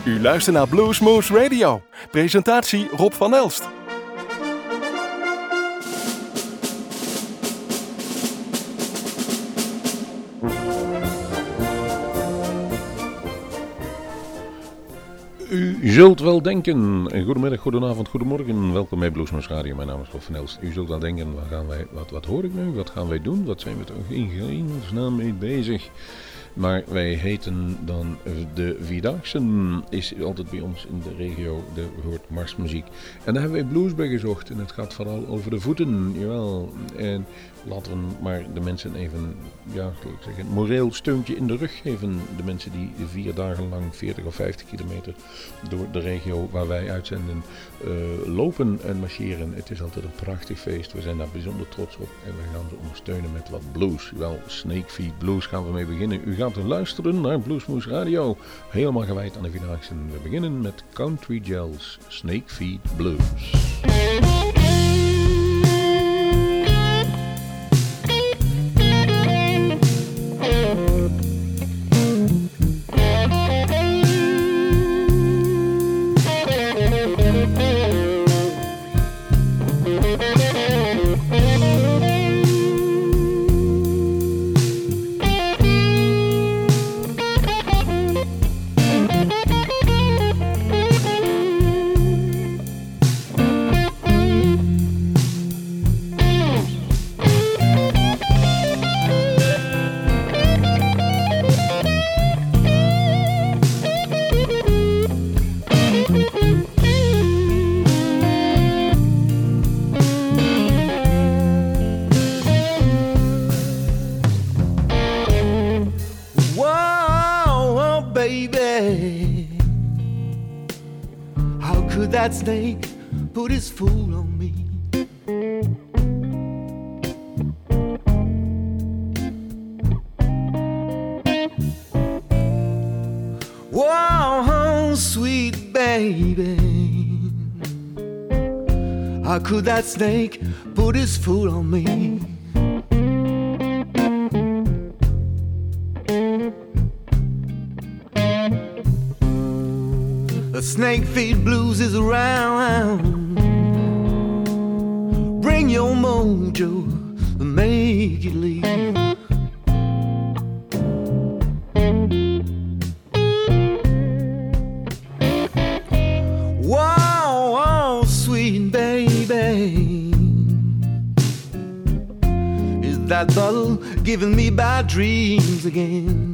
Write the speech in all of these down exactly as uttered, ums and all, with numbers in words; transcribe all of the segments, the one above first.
U luistert naar Bluesmoose Radio. Presentatie Rob van Elst. U zult wel denken, goedemiddag, goedenavond, goedemorgen, welkom bij Bluesmoose Radio, mijn naam is Rob van Elst. U zult wel denken, wat, gaan wij, wat, wat hoor ik nu, wat gaan wij doen, wat zijn we toch in hemelsnaam mee bezig? Maar wij heten dan de Vierdaagsen, is altijd bij ons in de regio, de hoort marsmuziek. En daar hebben wij blues bij gezocht en het gaat vooral over de voeten, jawel. En laten we maar de mensen even, ja, zal ik zeggen, een moreel steuntje in de rug geven. De mensen die vier dagen lang veertig of vijftig kilometer door de regio waar wij uitzenden uh, lopen en marcheren. Het is altijd een prachtig feest, we zijn daar bijzonder trots op en we gaan ze ondersteunen met wat blues. Wel, Snakefeet Blues gaan we mee beginnen. U gaat luisteren naar Bluesmoose Radio, helemaal gewijd aan de Vierdaagsen. We beginnen met Country Gels, Snakefeet Blues. That snake put his fool on me. Whoa, sweet baby, how could that snake put his fool on me? Snakefeet Blues is around. Bring your mojo and make it leave. Whoa, whoa, sweet baby, is that bottle giving me bad dreams again?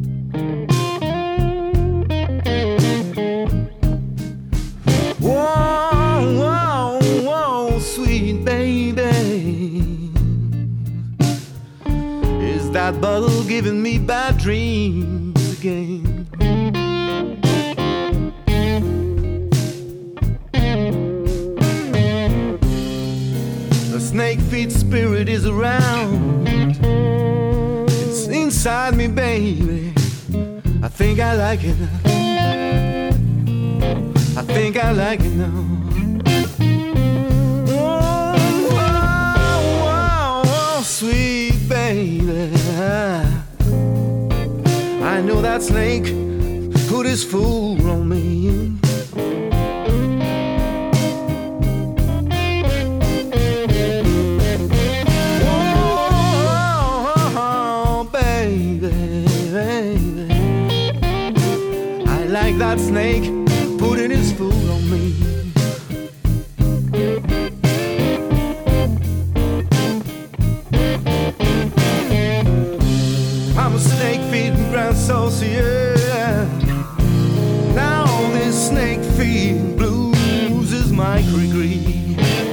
That bottle giving me bad dreams again. The Snakefeet spirit is around. It's inside me, baby. I think I like it now. I think I like it now. Oh, oh, oh, oh, sweet baby, I know that snake put his fool on me. Oh, baby, baby, I like that snake putting his fool on me. Associate. Now this Snakefeet Blues is my degree.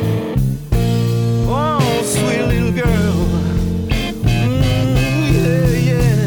Oh, sweet little girl. Mm, yeah, yeah.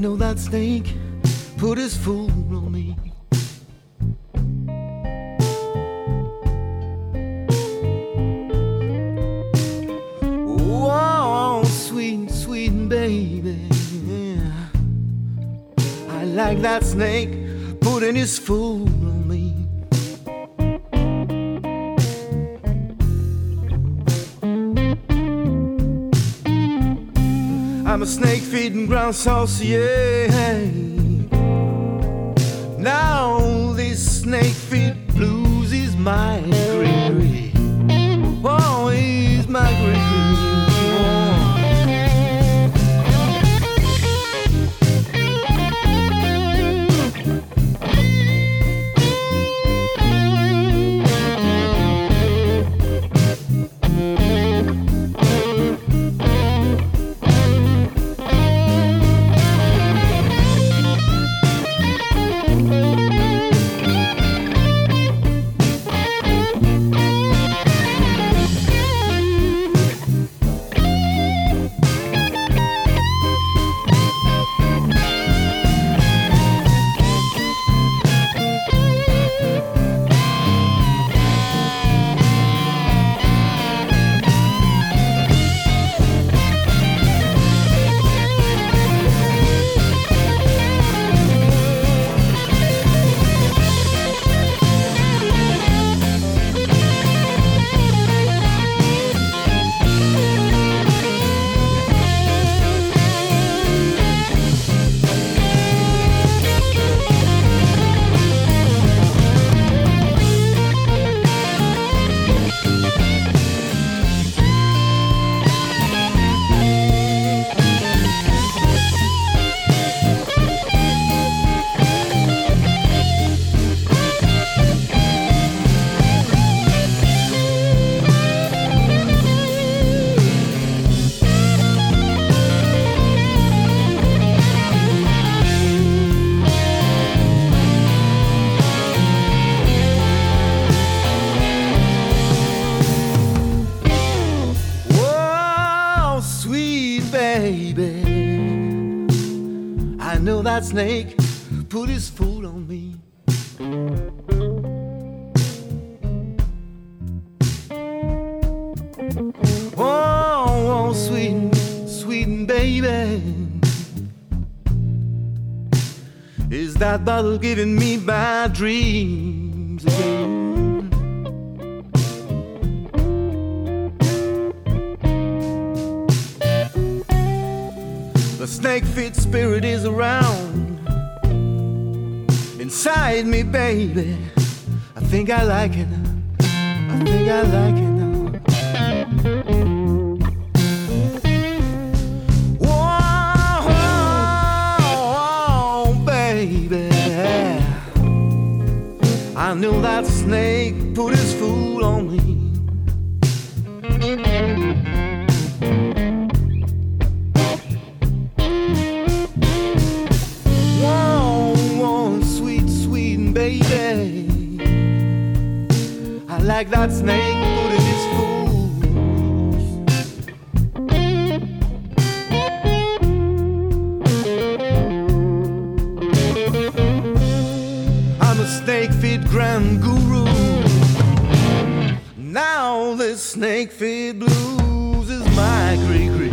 know that snake put his fool on me. Oh, sweet, sweet baby, I like that snake putting his fool on me. I'm a snake feeding ground saucier. Now this snake feed blues is my gregory. Oh, he's my gregory. That snake put his foot on me. Oh, oh, sweet, sweet baby, is that bottle giving me bad dreams again? The snake fit spirit is around inside me, baby. I think I like it. I think I like it now. Whoa, oh, baby, I knew that snake put his fool on me. Like that snake putting his fools. I'm a snake feed grand guru. Now this snake feed blues is my gregory.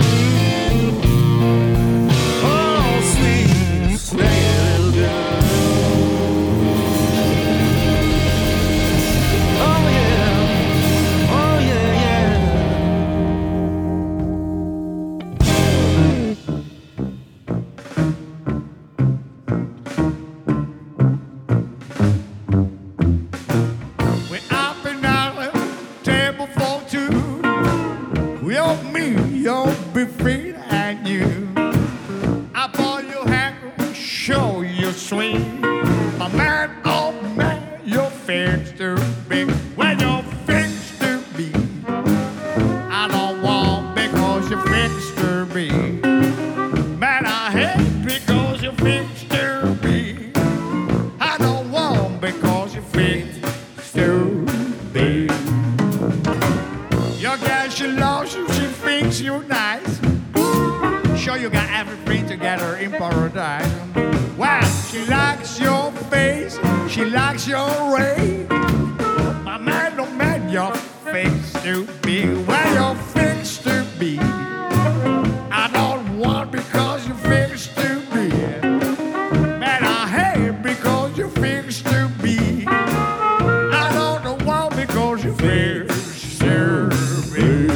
Oh, sweet snake little girl. got everything together in paradise. Well, she likes your face, she likes your way. My man, don't man, your face to be where you're fixed to be. I don't want because you're fixed to be. Man, I hate because you're fixed to be. I don't want because you're fixed to be.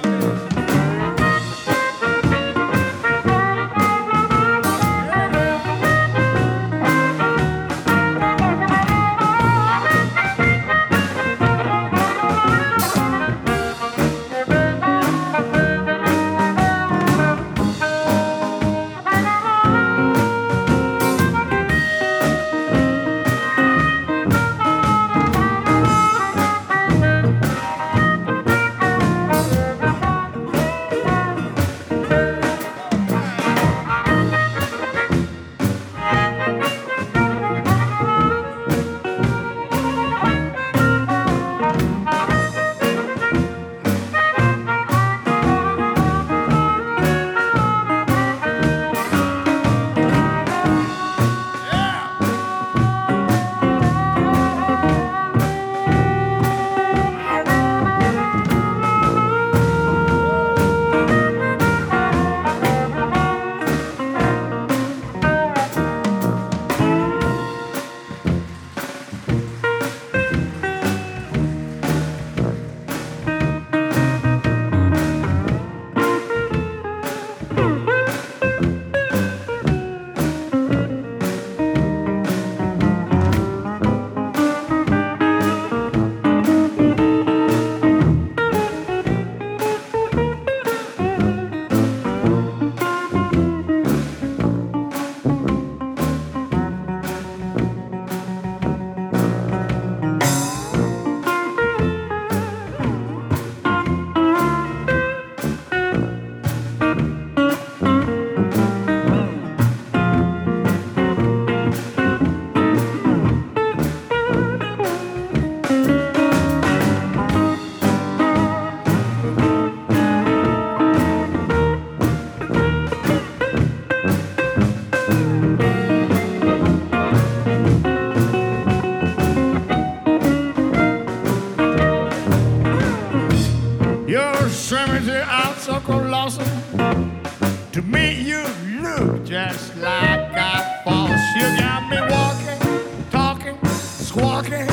To me, you look just like a false. You got me walking, talking, squawking.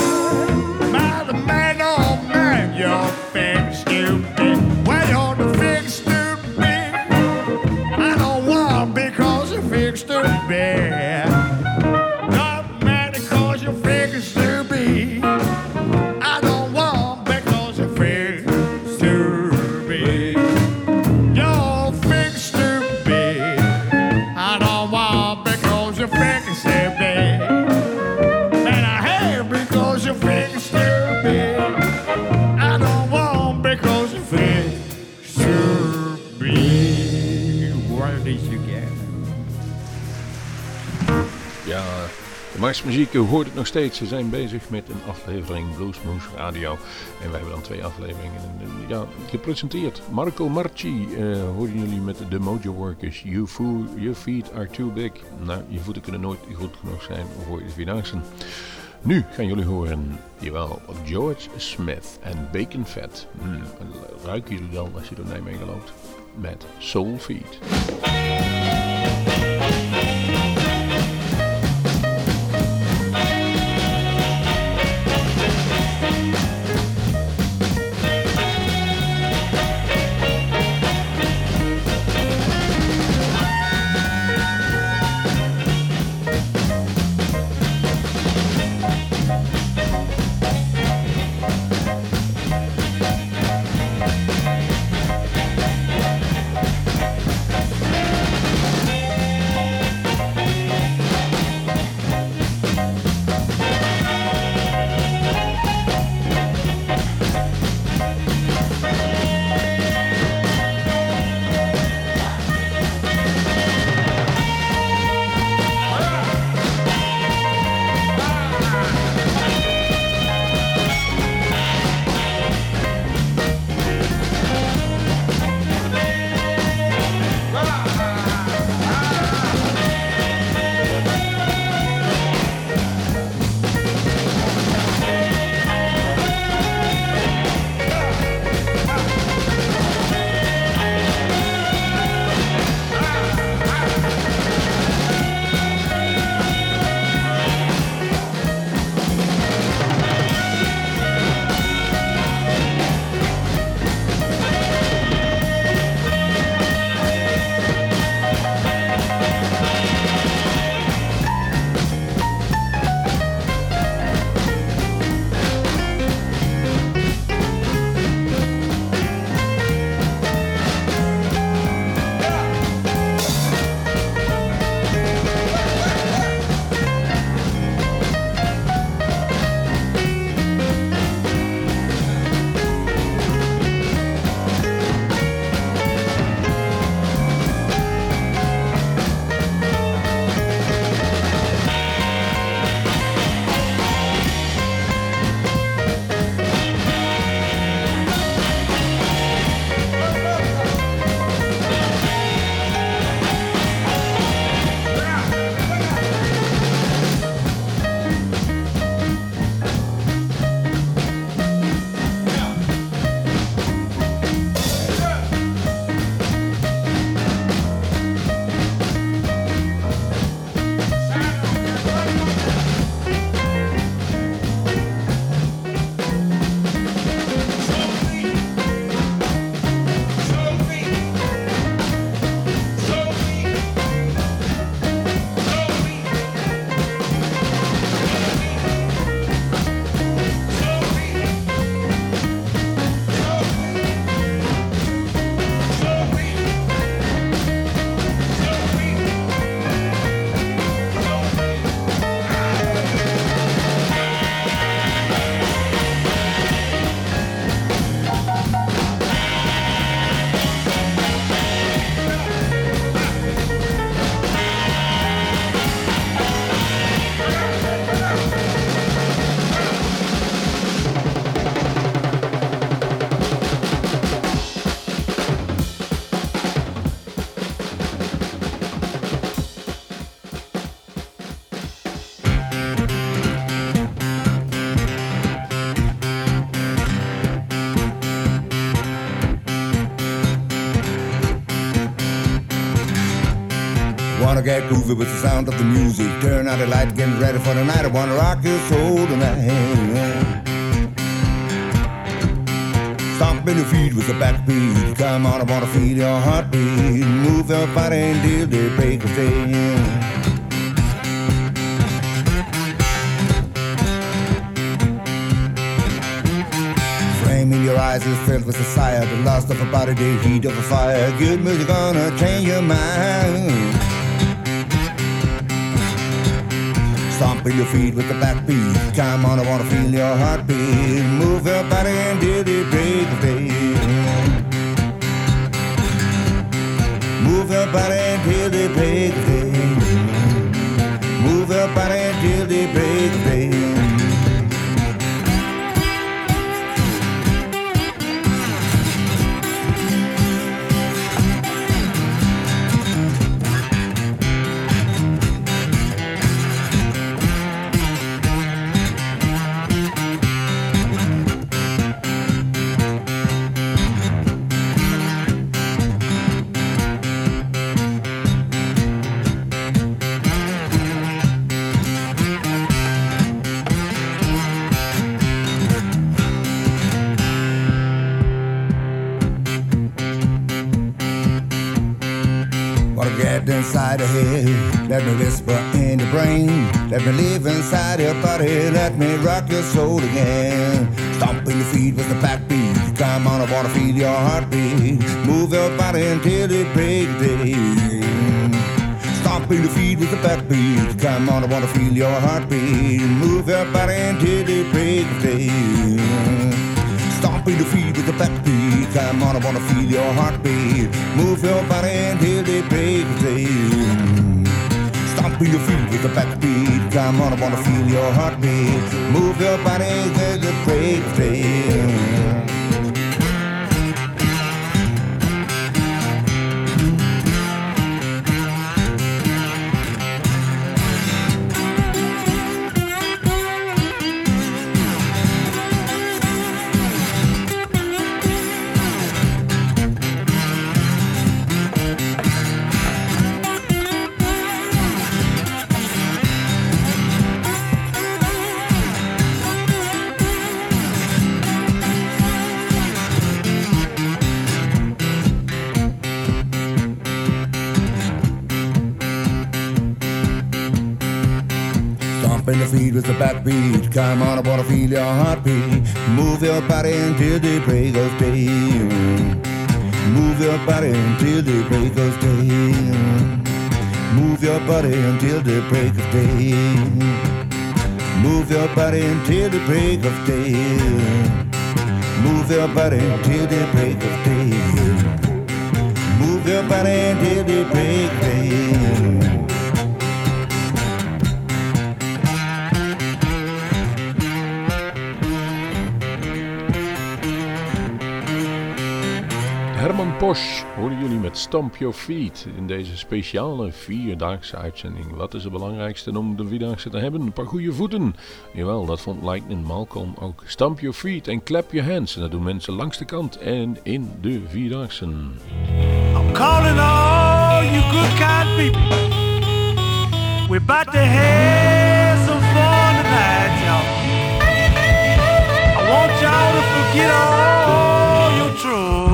Man, the man, oh man, you're fixed to be. Well, you're the fixed to be. I don't want because you're fixed to be. Not mad because you're fixed to be. I don't want because you're fixed to be. You're fixed to be. I don't want because you're fixed to be. And I hate because you're fixed to be. I don't want because you're fixed to be. One of these together. Ja, de Mars Muziek, u hoort het nog steeds. Ze zijn bezig met een aflevering Bluesmoose Radio. En wij hebben dan twee afleveringen ja, gepresenteerd. Marco Marci uh, hoorden jullie met de Mojo Workers. You fool, your feet are too big. Nou, je voeten kunnen nooit goed genoeg zijn voor de Vierdaagse. Nu gaan jullie horen, jawel, George Smith en Bacon Fat. Hmm, ruiken jullie wel als je door Nijmegen loopt? Met Soul Feed. Yeah. wanna get groovy with the sound of the music. Turn out the light, getting ready for the night. I wanna rock your soul tonight. Stomping your feet with the backbeat. Come on, I wanna feel your heartbeat. Move your body until the break of day. In your eyes is filled with desire, the lust of a body, the heat of a fire. Good music gonna change your mind. Stomping your feet with the backbeat. Come on, I wanna feel your heartbeat. Move your body until the break of day. Move your body until the break of day. Move your body until the break of day. Inside the head, let me whisper in your brain. Let me live inside your body, let me rock your soul again. Stomping your feet with the backbeat. Come on, I wanna feel your heartbeat. Move your body until the break of day. Stomping your feet with the backbeat. Come on, I wanna feel your heartbeat. Move your body until the break of day. Stomping your feet with the backbeat. Come on, I wanna feel your heartbeat. Move your body until the break of day. Stomping your feet with the backbeat. Come on, I wanna feel your heartbeat. Move your body until the break of day. Stomping your feet with the backbeat. Come on, I wanna feel your heartbeat. Move your body until the break of day. Move your body until the break of day. Move your body until the break of day. Move your body until the break of day. Move your body until the break of day. Move your body until the break of day. Herman Posch horen jullie met Stomp Your Feet in deze speciale vierdaagse uitzending. Wat is het belangrijkste om de vierdaagse te hebben? Een paar goede voeten. Jawel, dat vond Lightning Malcolm ook. Stomp Your Feet en Clap Your Hands. En dat doen mensen langs de kant en in de vierdaagse. I'm calling all you good kind people. We're about to have some fun tonight, y'all. I want y'all to forget all your troubles.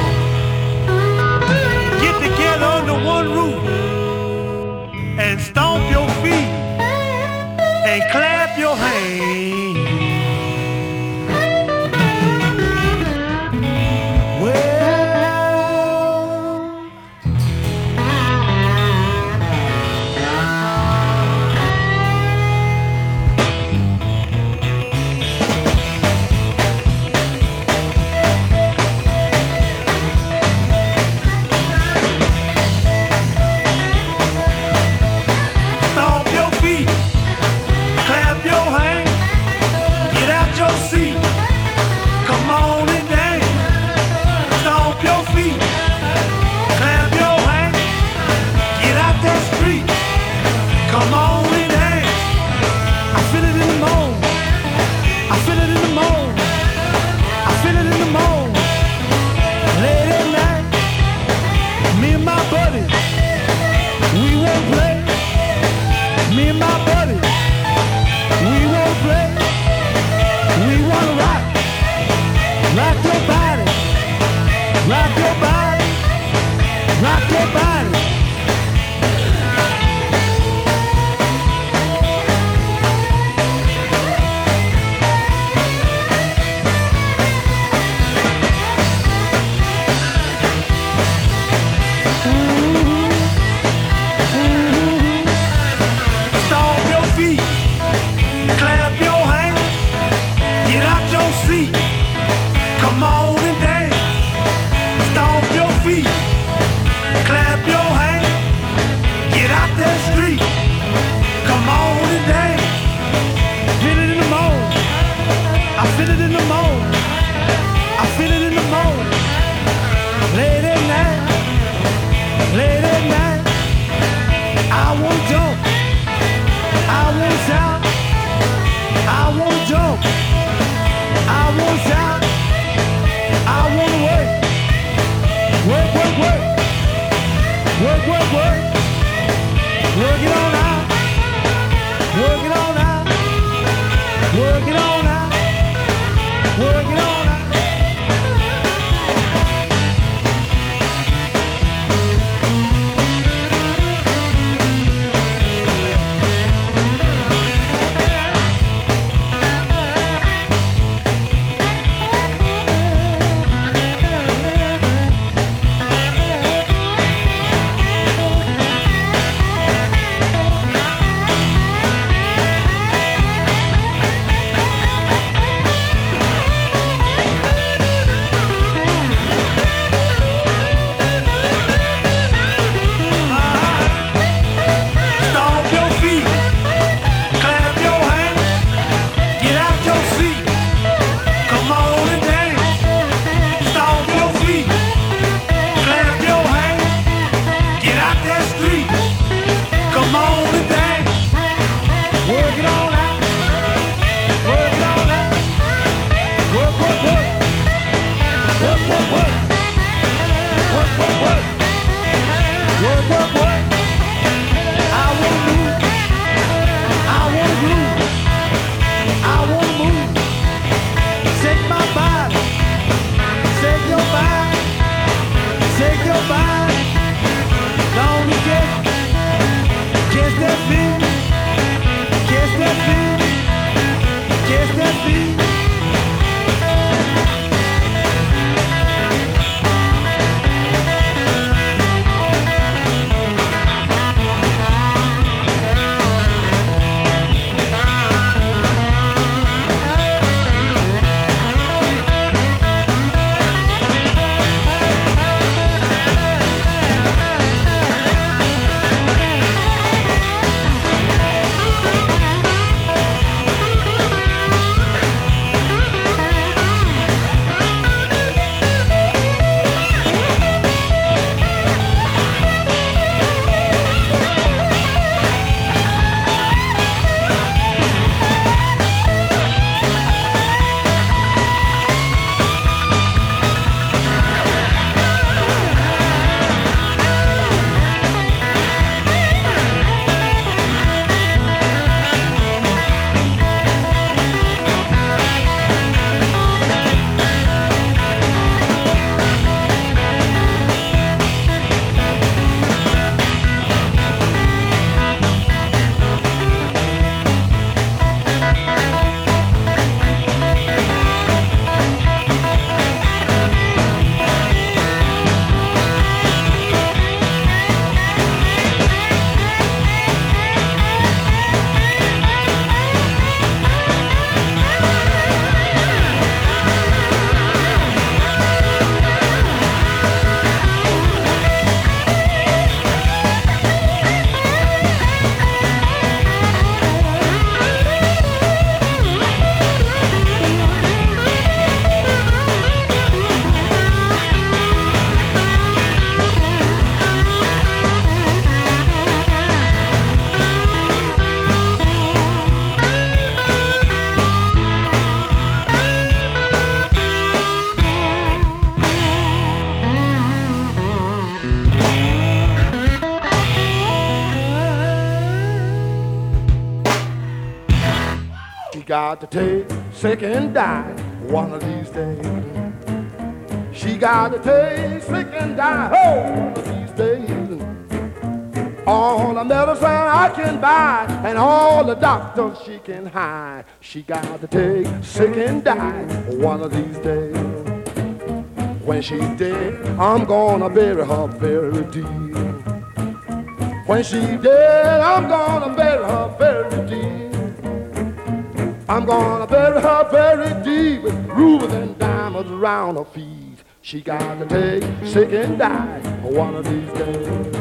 Together under one roof and stomp your feet and clap your hands. Well, Qu'est-ce que fille? Qu'est-ce que fille? Qu'est-ce que fille? Got to take sick and die one of these days. She got to take sick and die oh, one of these days. All the medicine I can buy and all the doctors she can hide. She got to take sick and die one of these days. When she's dead, I'm gonna bury her very deep. When she's dead, I'm gonna bury her very deep. I'm gonna bury her very deep with rubies and diamonds around her feet. She got to take sick and die one of these days.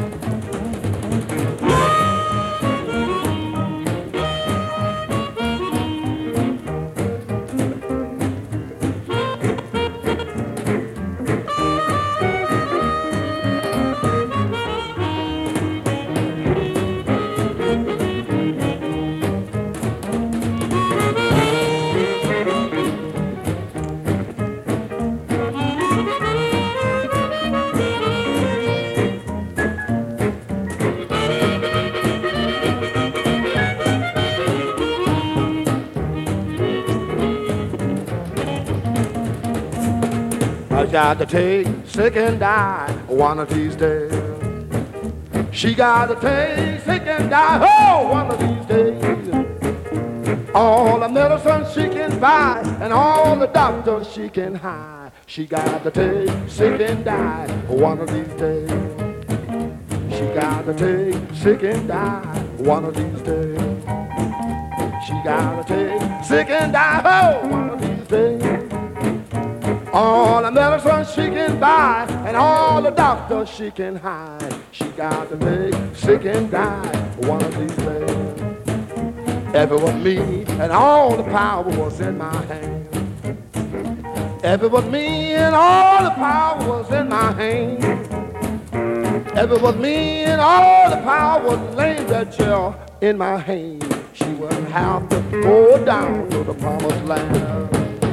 Got to take sick and die one of these days. She got to take sick and die oh, one of these days. All the medicine she can buy and all the doctors she can hide. She got to take sick and die one of these days. She got to take sick and die one of these days. She got to take sick and die oh, one of these days. All the medicine she can buy and all the doctors she can hide. She got to take sick and die one of these days. If it was me and all the power was in my hand. If it was me and all the power was in my hand. If it was me and all the power was laying that chair in my hand. She wouldn't have to go down to the promised land.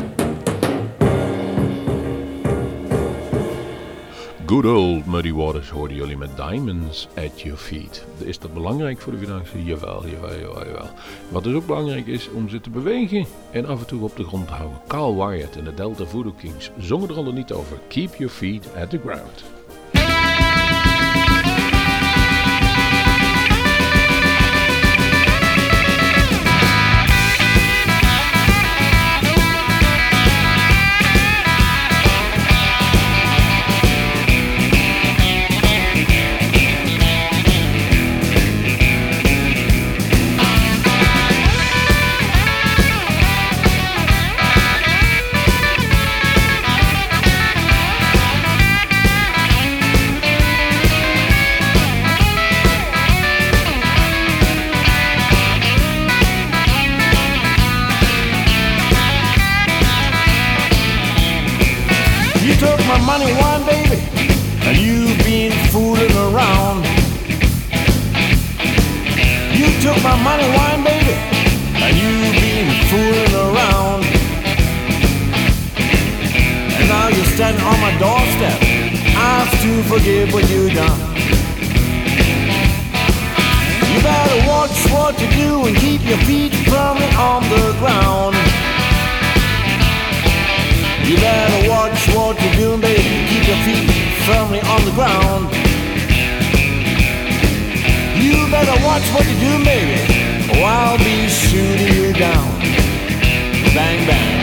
Good old Muddy Waters hoorden jullie met Diamonds at Your Feet. Is dat belangrijk voor de financiën? Jawel, jawel, jawel, jawel. Wat dus ook belangrijk is om ze te bewegen en af en toe op de grond te houden. Carl Wyatt en de Delta Voodoo Kings zongen er al niet over. Keep your feet at the ground. money, wine, baby, and you've been fooling around. You took my money, wine, baby, and you've been fooling around. And now you're standing on my doorstep, asked to forgive what you done. You better watch what you do and keep your feet firmly on the ground. You better watch what you're doing, baby. Keep your feet firmly on the ground. You better watch what you're doing, baby, or I'll be shooting you down. Bang, bang.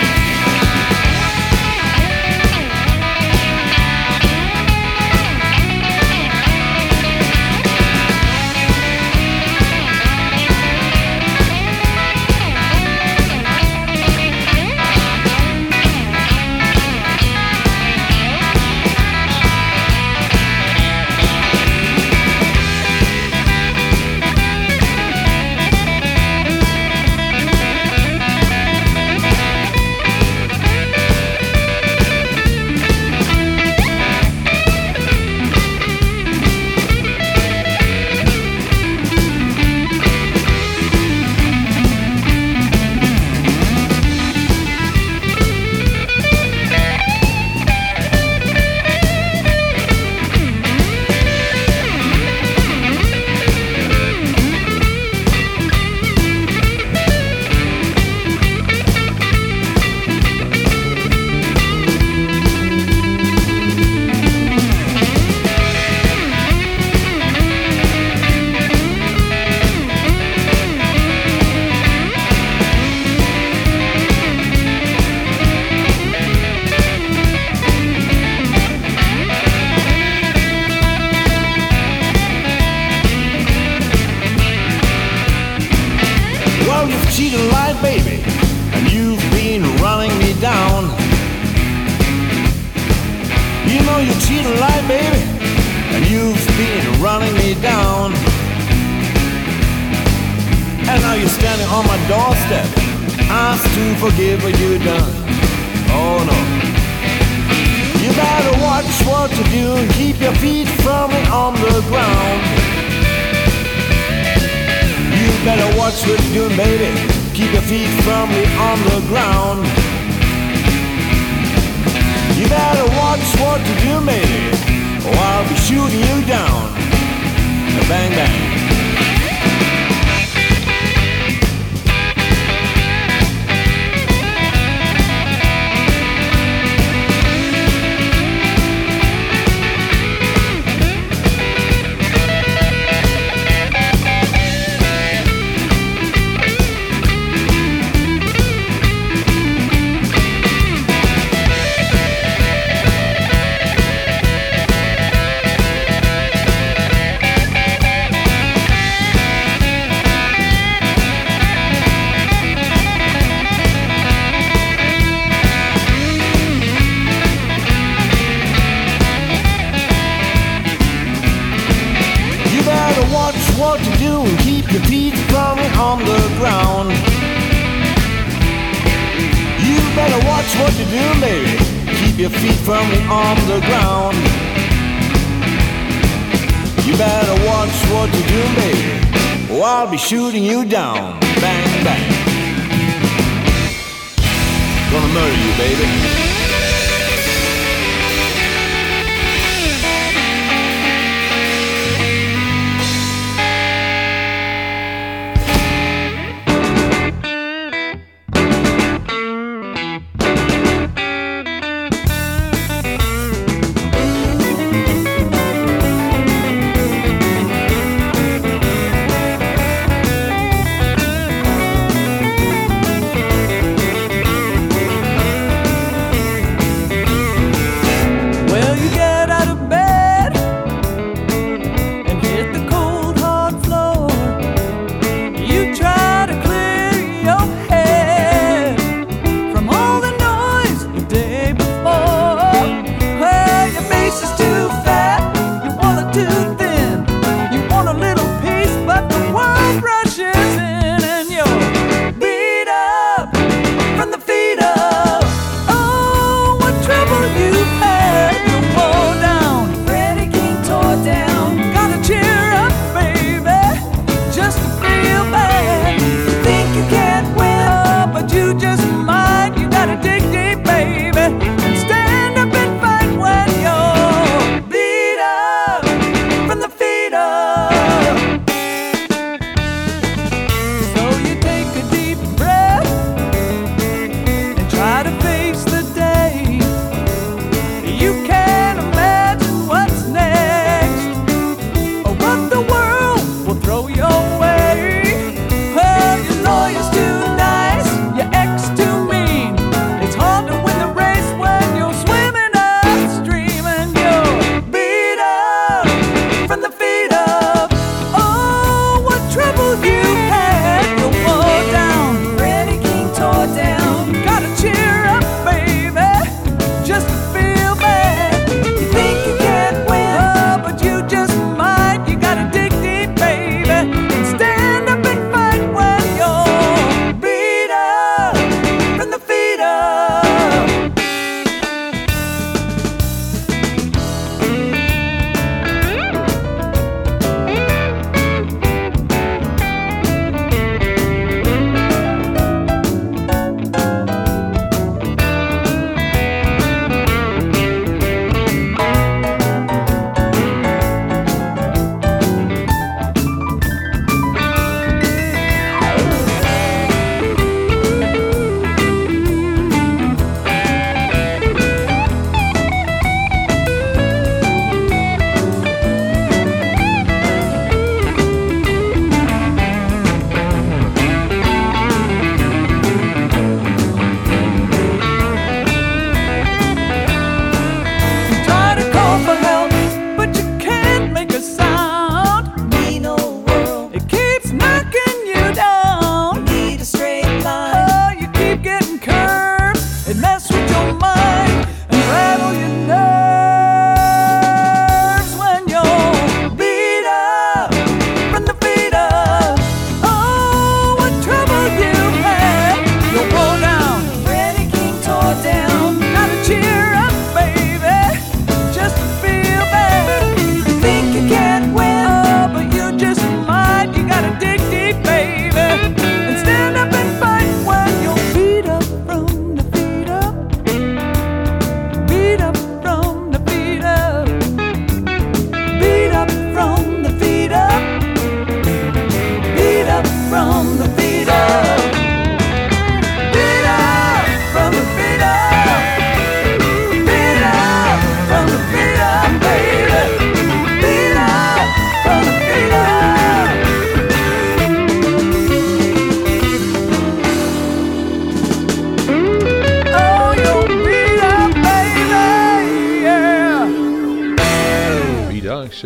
Shooting you down, bang, bang. Gonna murder you, baby.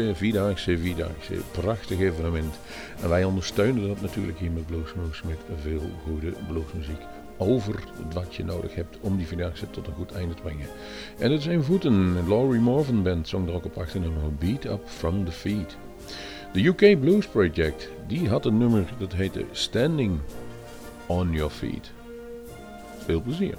Vierdaagse, Vierdaagse, Vierdaagse. Prachtig evenement. En wij ondersteunen dat natuurlijk hier met Bluesmoose met veel goede bluesmuziek. Over wat je nodig hebt om die Vierdaagse tot een goed einde te brengen. En het zijn voeten. Laurie Morvan Band zong er ook op achternummer Beat Up From The Feet. De U K Blues Project, die had een nummer dat heette Standing On Your Feet. Veel plezier.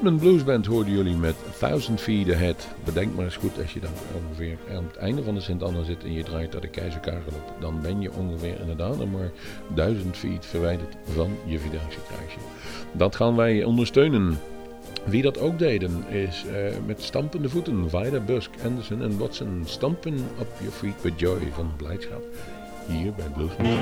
Rhythm Blues Band hoorden jullie met Thousand Feet Ahead. Bedenk maar eens goed, als je dan ongeveer aan het einde van de Sint-Anna zit en je draait naar de Keizer Karel op, dan ben je ongeveer inderdaad nog maar duizend feet verwijderd van je Vidangse kruisje. Dat gaan wij ondersteunen. Wie dat ook deden is uh, met stampende voeten. Vida, Busk, Anderson en Watson. Stampen up your feet with joy van blijdschap. Hier bij Bluesmoose.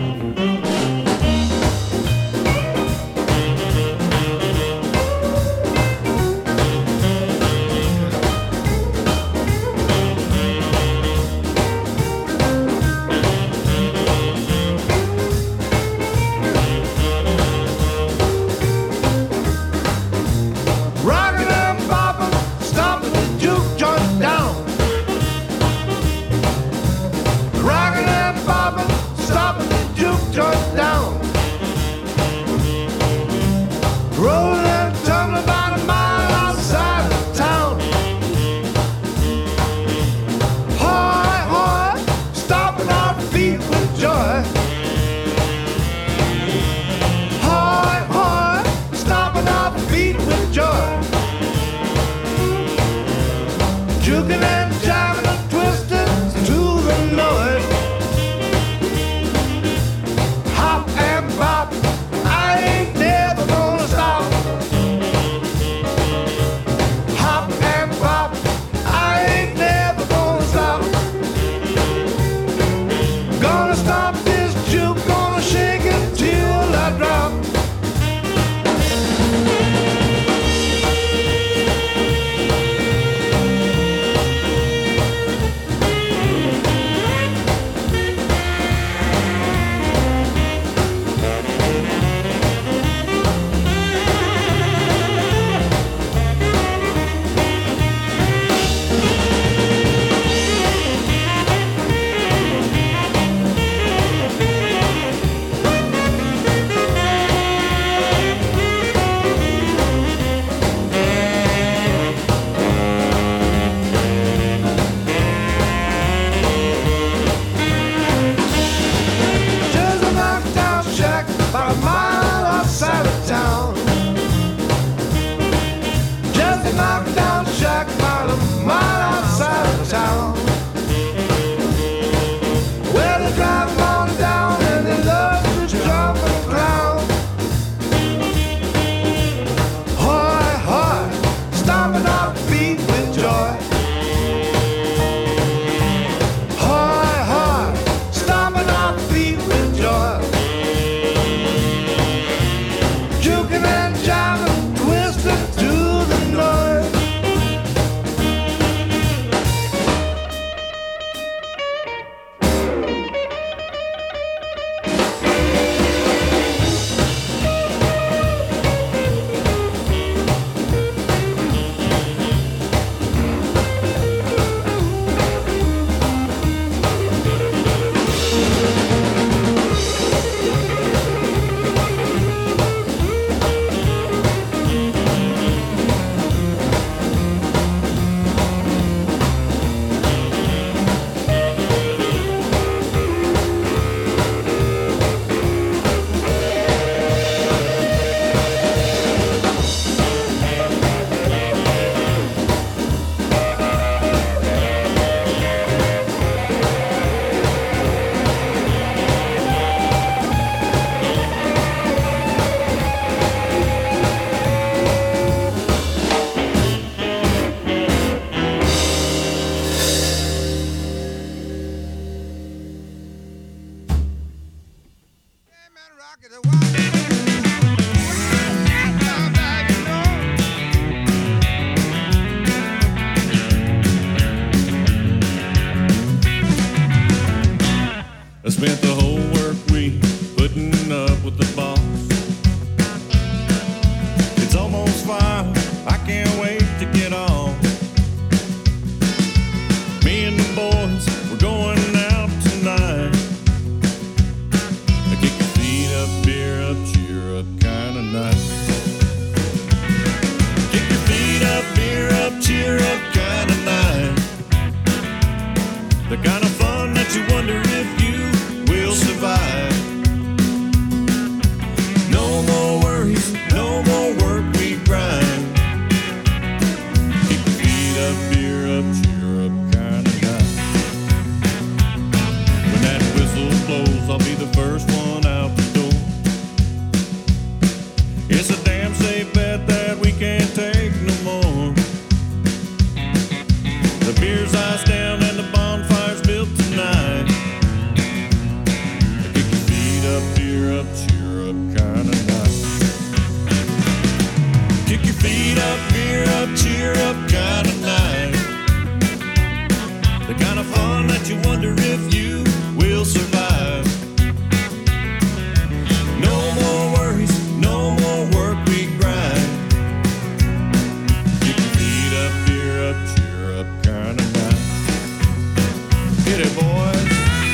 that you wonder if you will survive. No more worries, no more work we grind. Get your feet up, beer up, cheer up kind of night. Get it, boys.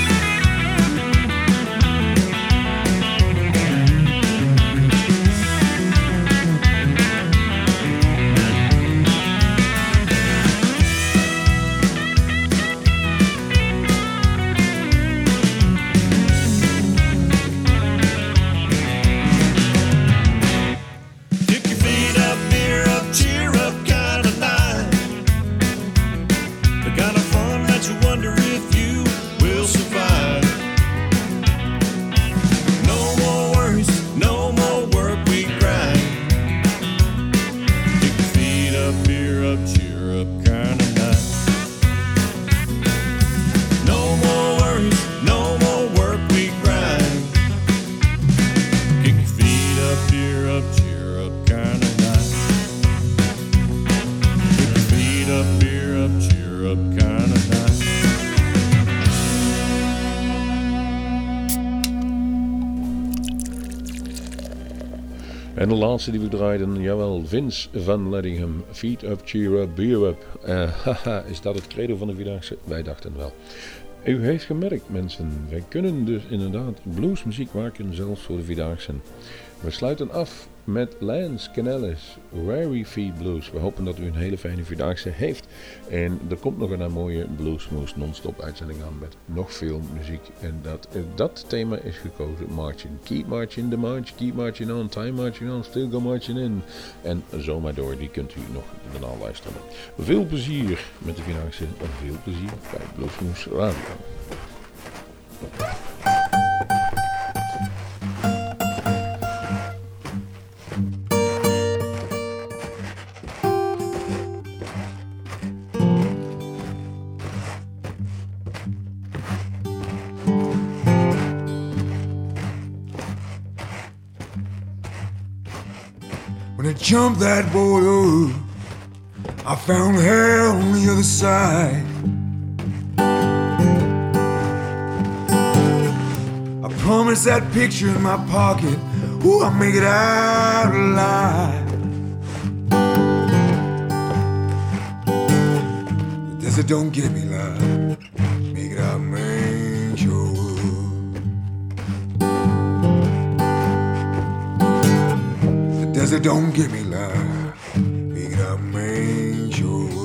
En de laatste die we draaiden, jawel, Vince van Leddingham, Feet Up, Cheer Up, Beer Up. Uh, haha, is dat het credo van de Vierdaagse? Wij dachten wel. U heeft gemerkt, mensen, wij kunnen dus inderdaad bluesmuziek maken, zelfs voor de Vierdaagse. We sluiten af met Lance Canellis, Weary Feet Blues. We hopen dat u een hele fijne Vierdaagse heeft. En er komt nog een mooie Bluesmoose non-stop uitzending aan met nog veel muziek. En dat, dat thema is gekozen, Marching. Keep marching the march, keep marching on, time marching on, still go marching in. En zo maar door, die kunt u nog daarna luisteren. Veel plezier met de Vierdaagse en veel plezier bij Bluesmoose Radio. When I jumped that border, I found hell on the other side. I promised that picture in my pocket, ooh, I'll make it out alive. The desert don't get me live, make it out, man, sure would. The desert don't get me live, make it out, man, sure would.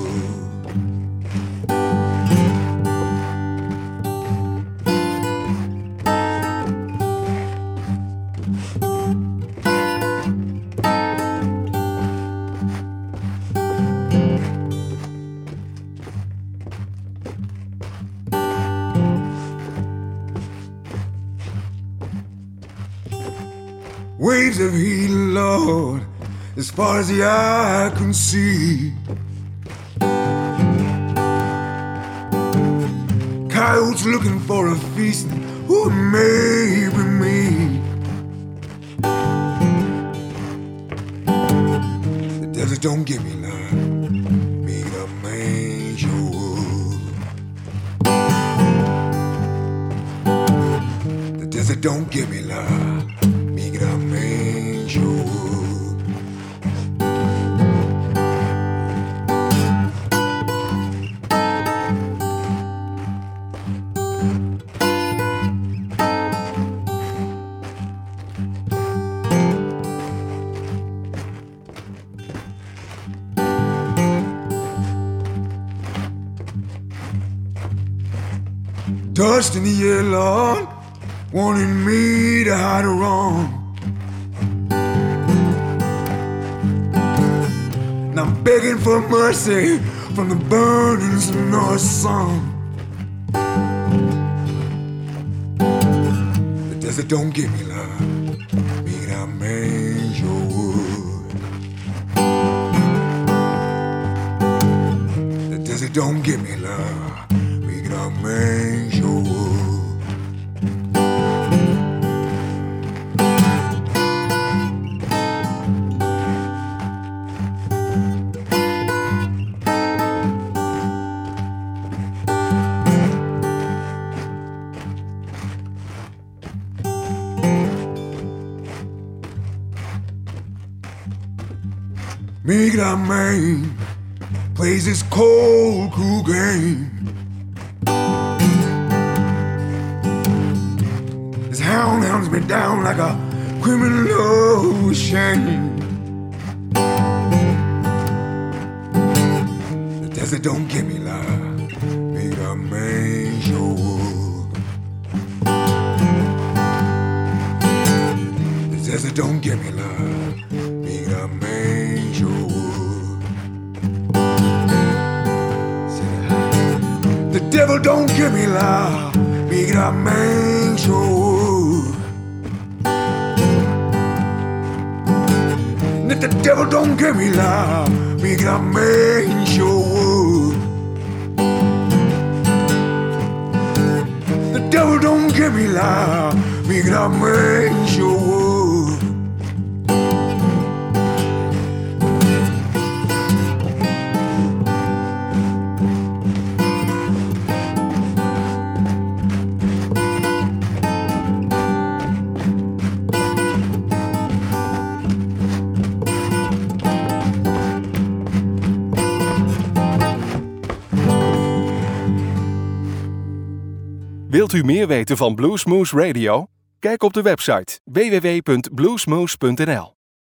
Waves of heat, Lord, as far as the eye can see. Coyotes looking for a feast, who may be me. The desert don't give me life, make it up, man, sure would. The desert don't give me life, make it up, man, sure would. Dust in the air, Lord, wanting me to hide a wrong. And I'm begging for mercy from the burnings of North Sun. The desert don't give me love, make it out, man, sure would. The desert don't give me love, make it out, man, sure would. make that man plays this cold, cool game. This hound hounds me down like a criminal with shame. The desert don't give me love, make that man show up. The desert don't give me love, make that man show up. The devil don't give me love, make that man show up. If the devil don't give me love, make that man show up. The devil don't give me love, make that man show up. Wilt u meer weten van Bluesmoose Radio? Kijk op de website w w w punt bluesmoose punt n l.